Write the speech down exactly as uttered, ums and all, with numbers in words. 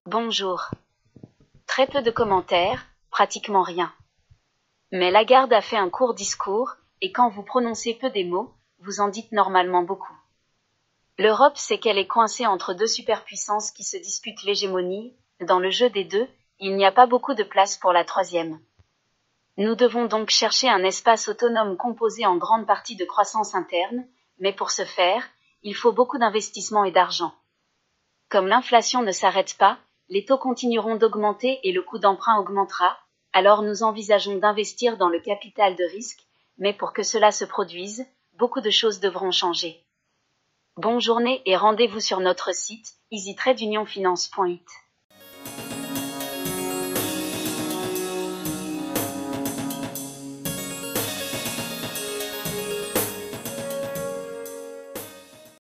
Bonjour. Très peu de commentaires, pratiquement rien. Mais Lagarde a fait un court discours, et quand vous prononcez peu des mots, vous en dites normalement beaucoup. L'Europe sait qu'elle est coincée entre deux superpuissances qui se disputent l'hégémonie. Dans le jeu des deux, il n'y a pas beaucoup de place pour la troisième. Nous devons donc chercher un espace autonome composé en grande partie de croissance interne, mais pour ce faire, il faut beaucoup d'investissement et d'argent. Comme l'inflation ne s'arrête pas, les taux continueront d'augmenter et le coût d'emprunt augmentera, alors nous envisageons d'investir dans le capital de risque, mais pour que cela se produise, beaucoup de choses devront changer. Bonne journée et rendez-vous sur notre site easy trade union finance point it.